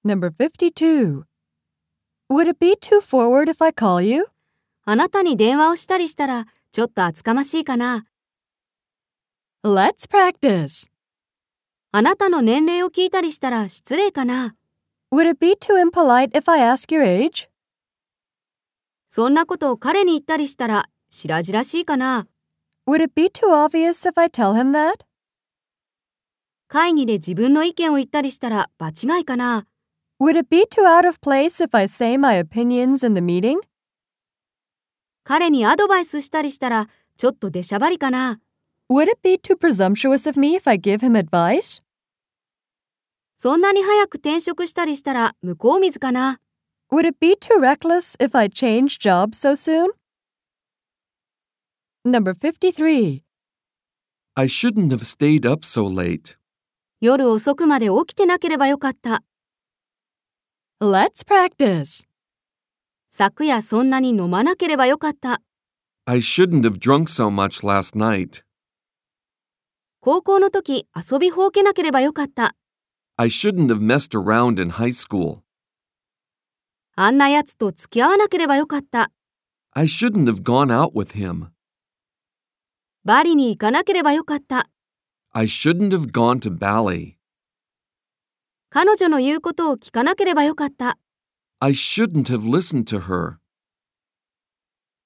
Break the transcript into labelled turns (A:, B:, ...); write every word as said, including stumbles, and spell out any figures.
A: Number fifty-two. Would it be too forward if I call you?
B: あなたに電話をしたりしたらちょっと厚かましいかな。
A: Let's practice.
B: あなたの年齢を聞いたりしたら失礼かな。
A: Would it be too impolite if I ask your age?
B: そんなことを彼に言ったりしたら白々しいかな。
A: Would it be too obvious if I tell him that?
B: 会議で自分の意見を言ったりしたら場違いかな。
A: Would it be too out of place if I say my opinions in the meeting?
B: 彼にアドバイスしたりしたらちょっと出しゃばりかな。
A: Would it be too presumptuous of me if I give him advice?
B: そんなに早く転職したりしたら向こう水かな。
A: Would it be too reckless if I change jobs so soon? Number fifty-three.
C: I shouldn't have stayed up so late.
B: 夜遅くまで起きてなければよかった。
A: Let's practice.
B: 昨夜そんなに飲まなければよかった。
C: I shouldn't have drunk so much last night.
B: 高校の時遊びほうけなければよかった。
C: I shouldn't have messed around in high school.
B: あんなやつと付き合わなければよかった。
C: I shouldn't have gone out with him.
B: バリに行かなければよかった。
C: I shouldn't have gone to ballet.
B: 彼女の言うことを聞かなければよかった。
C: I shouldn't have listened to her.